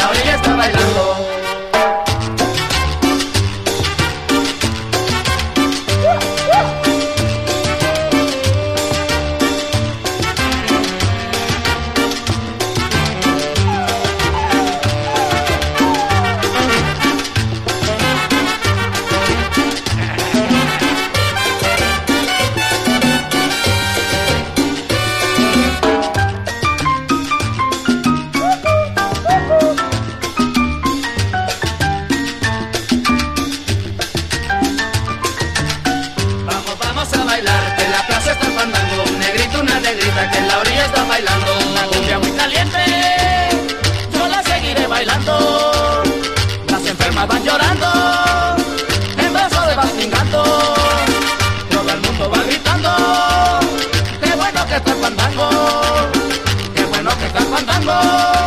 la orilla está bailando. Que en la plaza está el fandango, un negrito, una negrita que en la orilla está bailando. Una cumbia muy caliente, yo la seguiré bailando. Las enfermas van llorando, en brazos de bastingando. Todo el mundo va gritando, qué bueno que está el fandango, qué bueno que está el fandango.